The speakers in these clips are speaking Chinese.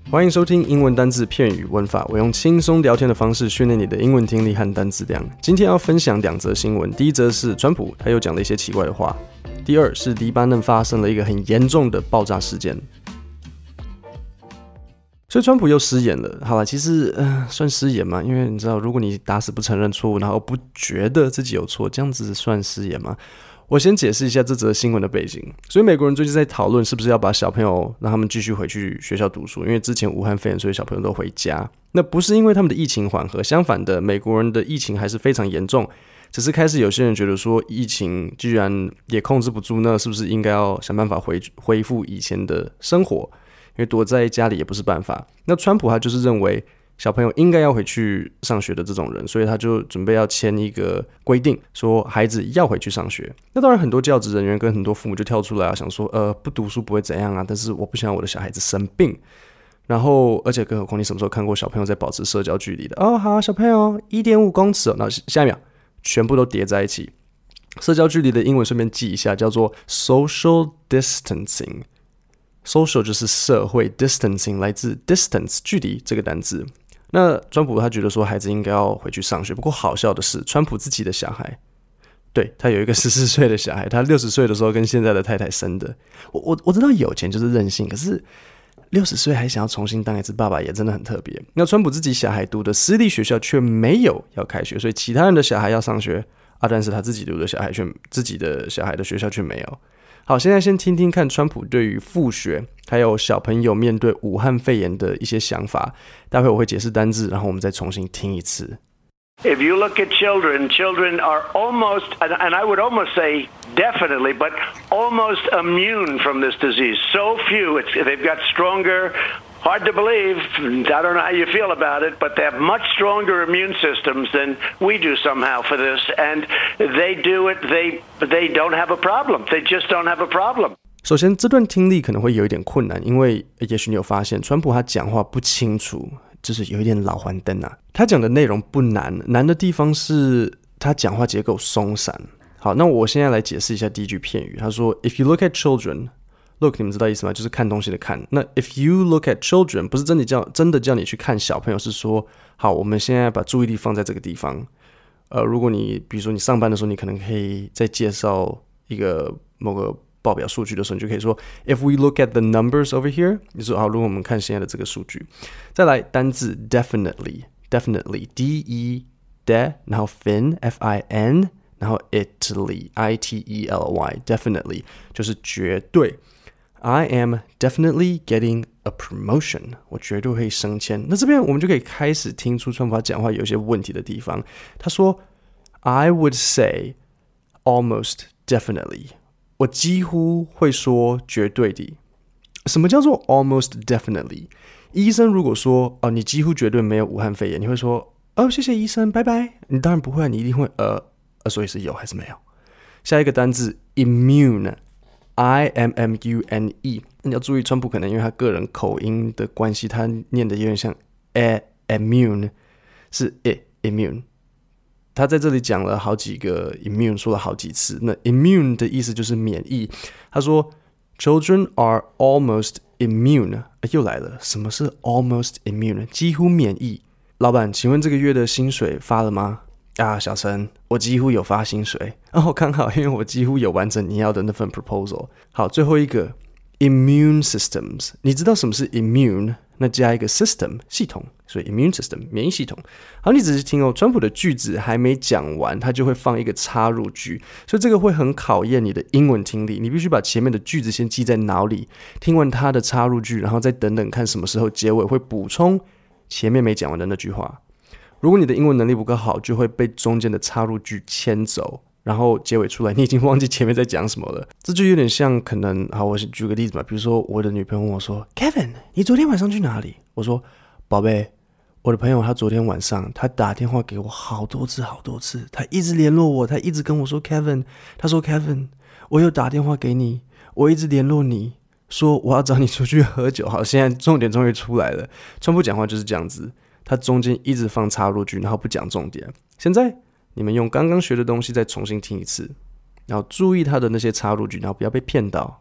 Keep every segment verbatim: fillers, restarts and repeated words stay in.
欢迎收听英文单字、片语、文法，我用轻松聊天的方式训练你的英文听力和单字量。今天要分享两则新闻，第一则是川普，他又讲了一些奇怪的话；第二是黎巴嫩发生了一个很严重的爆炸事件。所以川普又失言了。好啦，其实、呃、算失言嘛，因为你知道，如果你打死不承认错误，然后不觉得自己有错，这样子算失言吗？我先解释一下这则新闻的背景。所以美国人最近在讨论是不是要把小朋友让他们继续回去学校读书，因为之前武汉肺炎，所以小朋友都回家。那不是因为他们的疫情缓和，相反的，美国人的疫情还是非常严重。只是开始有些人觉得说，疫情既然也控制不住，那是不是应该要想办法回恢复以前的生活？因为躲在家里也不是办法。那川普他就是认为小朋友应该要回去上学的这种人，所以他就准备要签一个规定，说孩子要回去上学。那当然很多教职人员跟很多父母就跳出来啊，想说呃不读书不会怎样啊，但是我不想我的小孩子生病。然后而且更何况你什么时候看过小朋友在保持社交距离的？哦好，小朋友 一点五公尺哦，那下一秒全部都叠在一起。社交距离的英文顺便记一下，叫做 social distancing。social 就是社会 ，distancing 来自 distance 距离这个单字。那川普他觉得说孩子应该要回去上学，不过好笑的是，川普自己的小孩，对，他有一个十四岁的小孩，他六十岁的时候跟现在的太太生的。我我我知道有钱就是任性，可是六十岁还想要重新当一次爸爸，也真的很特别。那川普自己小孩读的私立学校却没有要开学，所以其他人的小孩要上学啊，但是他自己读的小孩却自己的小孩的学校却没有。好，现在先听听看川普对于复学还有小朋友面对武汉肺炎的一些想法。待会我会解释单字，然后我们再重新听一次。 If you look at children, children are almost, and I would almost say definitely, but almost immune from this disease. So few, it's, they've got stronger, hard to believe, I don't know how you feel about it, but they have much stronger immune systems than we do somehow for this, and they do it, they, they don't have a problem. They just don't have a problem. 首先这段听力可能会有一点困难，因为也许你有发现川普他讲话不清楚，就是有一点老黄灯啊。他讲的内容不难，难的地方是他讲话结构松散。好，那我现在来解释一下第一句片语。他说 If you look at children， look 你们知道意思吗？就是看东西的看。那 if you look at children 不是真的叫真的叫你去看小朋友，是说好我们现在把注意力放在这个地方。呃，如果你比如说你上班的时候，你可能可以再介绍一个某个报表数据的时候，你就可以说 If we look at the numbers over here， 你说好，如果我们看现在的这个数据。再来单字 definitely definitely D E de 然后 fin F I N 然后 Italy I T E L Y definitely 就是绝对。I am definitely getting a promotion， 我绝对会升迁。那这边我们就可以开始听出川普他讲话有一些问题的地方。他说 I would say almost definitely，我几乎会说绝对的。什么叫做 almost definitely？ 医生如果说哦，你几乎绝对没有武汉肺炎，你会说哦，谢谢医生，拜拜。你当然不会啊，你一定会呃呃，所以是有还是没有？下一个单字 immune， I M M U N E。你要注意，川普可能因为他个人口音的关系，他念的有点像 a immune， 是 it immune。他在这里讲了好几个 immune， 说了好几次。那 immune 的意思就是免疫。他说 children are almost immune， 又来了，什么是 almost immune？ 几乎免疫。老板，请问这个月的薪水发了吗？啊，小陈，我几乎有发薪水。哦，刚好，因为我几乎有完成你要的那份 proposal。好，最后一个 immune systems， 你知道什么是 immune？那加一个 system 系统，所以 immune system 免疫系统。好，你仔细听哦，川普的句子还没讲完，他就会放一个插入句，所以这个会很考验你的英文听力。你必须把前面的句子先记在脑里，听完他的插入句，然后再等等看什么时候结尾会补充前面没讲完的那句话。如果你的英文能力不够好，就会被中间的插入句牵走，然后结尾出来你已经忘记前面在讲什么了。这就有点像可能，好，我举个例子吧，比如说我的女朋友问我说 Kevin， 你昨天晚上去哪里？我说宝贝，我的朋友他昨天晚上他打电话给我好多次好多次，他一直联络我，他一直跟我说 Kevin， 他说 Kevin， 我有打电话给你，我一直联络你，说我要找你出去喝酒。好，现在重点终于出来了。川普讲话就是这样子，他中间一直放插入句，然后不讲重点。现在你们用刚刚学的东西再重新听一次，然后注意他的那些插入句，然后不要被骗到。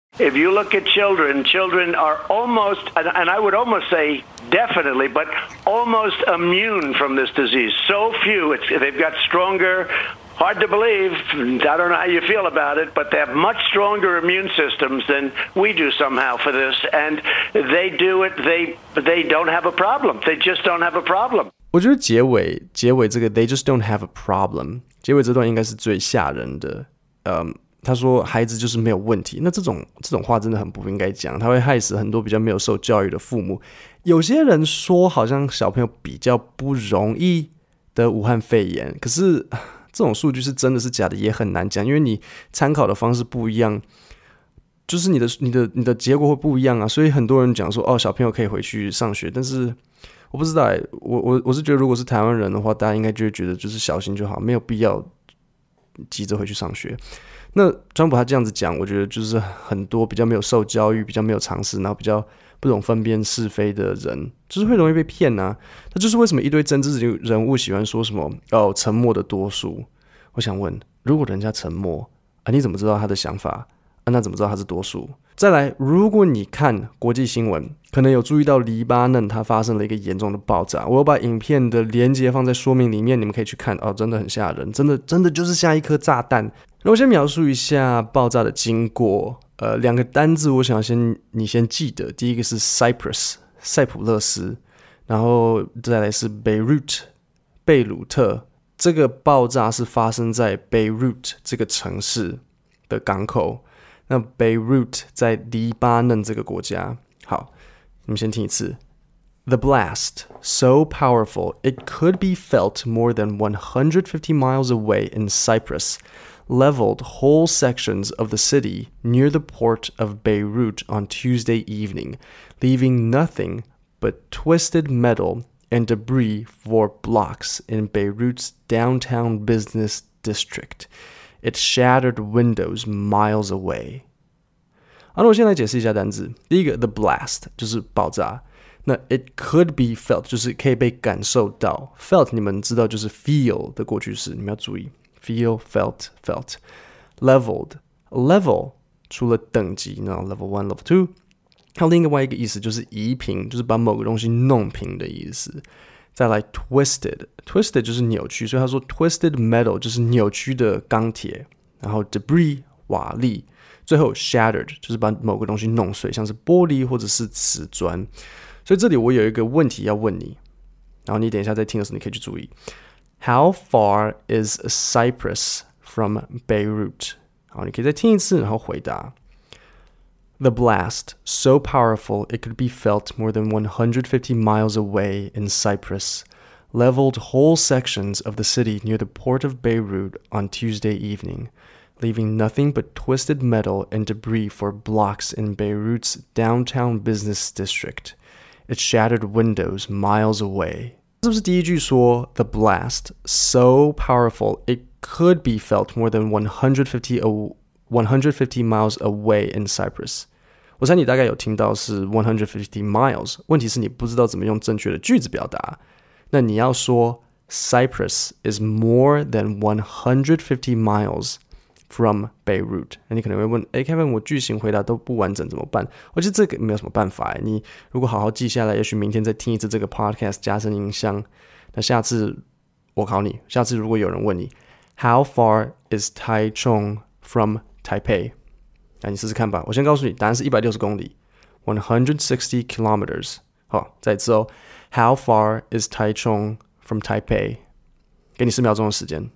If you look at children, children are almost, and I would almost say definitely, but almost immune from this disease. So few, it's, they've got stronger, hard to believe, I don't know how you feel about it, but they have much stronger immune systems than we do somehow for this, and they do it, they, they don't have a problem. They just don't have a problem. 我觉得结尾结尾这个 they just don't have a problem 结尾这段应该是最吓人的。嗯，他说孩子就是没有问题，那这种这种话真的很不应该讲，他会害死很多比较没有受教育的父母。有些人说好像小朋友比较不容易得武汉肺炎，可是这种数据是真的是假的也很难讲，因为你参考的方式不一样，就是你的你的你的结果会不一样啊。所以很多人讲说哦，小朋友可以回去上学，但是我不知道欸，我我我是觉得如果是台湾人的话，大家应该就会觉得就是小心就好，没有必要急着回去上学。那川普他这样子讲，我觉得就是很多比较没有受教育、比较没有常识，然后比较不懂分辨是非的人，就是会容易被骗啊。那就是为什么一堆政治人物喜欢说什么哦，沉默的多数。我想问，如果人家沉默啊，你怎么知道他的想法啊？那怎么知道他是多数？再来，如果你看国际新闻，可能有注意到黎巴嫩它发生了一个严重的爆炸。我有把影片的连结放在说明里面，你们可以去看哦，真的很吓人，真的真的就是下一颗炸弹。那我先描述一下爆炸的经过。呃，两个单字我想先你先记得，第一个是 Cyprus 塞浦勒斯，然后再来是 Beirut 贝鲁特。这个爆炸是发生在 Beirut 这个城市的港口。那 Beirut 在黎巴嫩这个国家。好，你们先听一次。The blast, so powerful it could be felt more than one hundred fifty miles away in Cyprus, leveled whole sections of the city near the port of Beirut on Tuesday evening, leaving nothing but twisted metal and debris for blocks in Beirut's downtown business district.It shattered windows miles away. 好，那我先来解释一下单字。第一个 the blast 就是爆炸，那 it could be felt 就是可以被感受到， felt 你们知道就是 feel 的过去式，你们要注意 feel, felt, felt. Leveled level 除了等级，然后 level one, level two， 还有另外一个意思就是移平，就是把某个东西弄平的意思。再来 twisted twisted 就是扭曲，所以他说 twisted metal 就是扭曲的钢铁，然后 debris 瓦砾，最后 shattered 就是把某个东西弄碎，像是玻璃或者是瓷砖。所以这里我有一个问题要问你，然后你等一下在听的时候你可以去注意。How far is Cyprus from Beirut？ 好，你可以再听一次，然后回答。The blast, so powerful it could be felt more than one hundred fifty miles away in Cyprus, leveled whole sections of the city near the port of Beirut on Tuesday evening, leaving nothing but twisted metal and debris for blocks in Beirut's downtown business district. It shattered windows miles away. 是不是第一句说 The blast, so powerful it could be felt more than one hundred fifty one hundred fifty miles away in Cyprus. 我猜你大概有听到是one hundred fifty miles， 问题是你不知道怎么用正确的句子表达。那你要说 Cyprus is more than one hundred fifty miles from Beirut。 那你可能会问，诶 Kevin 我句型回答都不完整怎么办？我觉得这个没有什么办法。你如果好好记下来，也许明天再听一次这个 podcast 加深印象。那下次我考你，下次如果有人问你 How far is Taichung from Taipei？ 那你试试看吧。我先告诉你，答案是一百六十公里 one hundred sixty kilometers。 好，再一次哦。 How far is Taichung from Taipei？ 给你四秒钟的时间。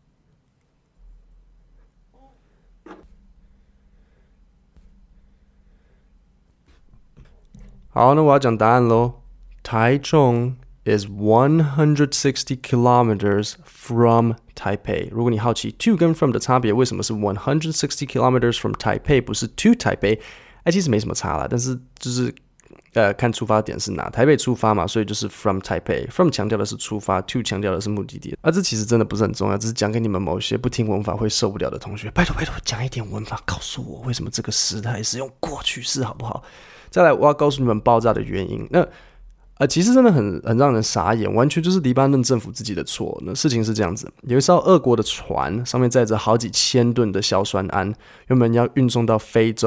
好，那我要讲答案咯。 Taichung is one hundred sixty kilometers from Taipei。 如果你好奇 to 跟 from 的差别，为什么是one hundred sixty kilometers from Taipei 不是 to Taipei？ 哎，其实没什么差啦，但是就是呃看出发点是哪，台北出发嘛，所以就是 from Taipei。 from 强调的是出发， to 强调的是目的地。啊，这其实真的不是很重要，只是讲给你们某些不听文法会受不了的同学，拜托拜托讲一点文法，告诉我为什么这个时态是用过去式好不好？再来，我要告诉你们爆炸的原因。那呃，其实真的很很让人傻眼，完全就是黎巴嫩政府自己的错。那事情是这样子，有一艘俄国的船，上面载着好几千吨的硝酸铵，原本要运送到非洲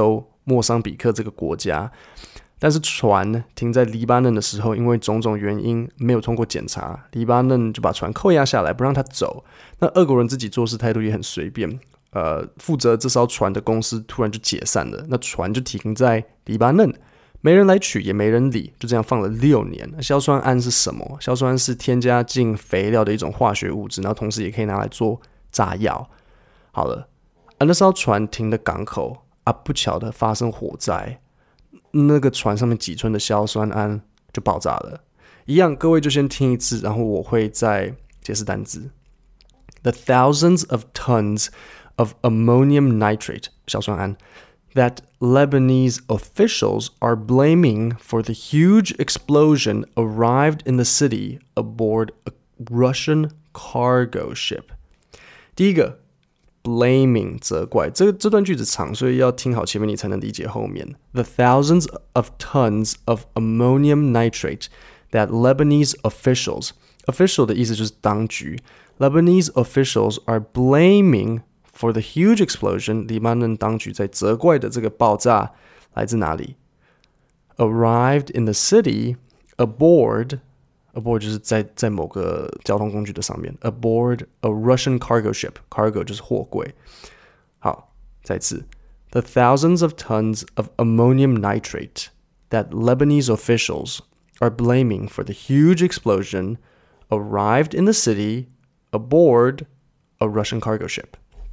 莫桑比克这个国家。但是船停在黎巴嫩的时候，因为种种原因没有通过检查，黎巴嫩就把船扣押下来，不让他走。那俄国人自己做事态度也很随便，呃，负责这艘船的公司突然就解散了，那船就停在黎巴嫩，没人来取，也没人理，就这样放了六年。那硝酸铵是什么？硝酸铵是添加进肥料的一种化学物质，然后同时也可以拿来做炸药。好了，啊，那艘船停的港口啊，不巧的发生火灾。那个船上面几吨的硝酸铵就爆炸了。一样，各位就先听一次，然后我会再解释单字。The thousands of tons of ammonium nitrate 硝酸铵 that Lebanese officials are blaming for the huge explosion arrived in the city aboard a Russian cargo ship. 第一个。Blaming 责怪，这这段句子长，所以要听好前面你才能理解后面。The thousands of tons of ammonium nitrate that Lebanese officials official 的意思就是当局 Lebanese officials are blaming for the huge explosion 黎巴嫩当局在责怪的这个爆炸来自哪里 Arrived in the city aboard aboard 就是在在某个交通工具的上面 aboard a Russian cargo ship cargo 就是货柜。好，再次 The thousands of tons of ammonium nitrate that Lebanese officials are blaming for the huge explosion arrived in the city aboard a Russian cargo ship.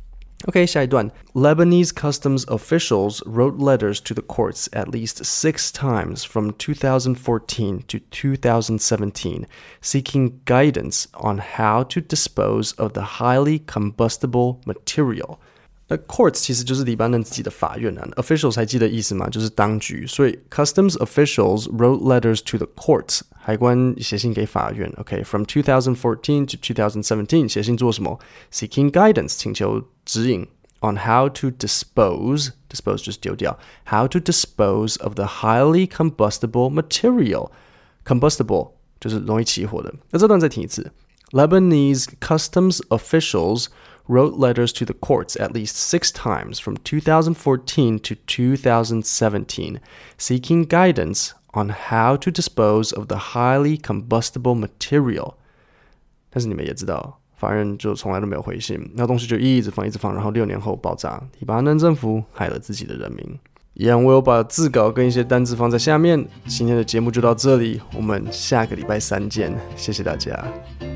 OK, 下一段 Lebanese customs officials wrote letters to the courts at least six times from two thousand fourteen to two thousand seventeen, seeking guidance on how to dispose of the highly combustible material. 那 courts 其实就是黎巴嫩自己的法院啊 officials 还记得意思吗？就是当局。所以 customs officials wrote letters to the courts 海关写信给法院 OK, from two thousand fourteen to two thousand seventeen 写信做什么 seeking guidance 请求指引 on how to dispose dispose 就是丢掉 how to dispose of the highly combustible material combustible 就是容易起火的。那这段再听一次 Lebanese customs officials wrote letters to the courts at least six times from two thousand fourteen to two thousand seventeen, seeking guidance on how to dispose of the highly combustible material. 但是你们也知道，法院就从来都没有回信，那东西就一直放一直放，然后六年后爆炸，黎巴嫩政府害了自己的人民。一样，我有把字稿跟一些单字放在下面。今天的节目就到这里，我们下个礼拜三见，谢谢大家。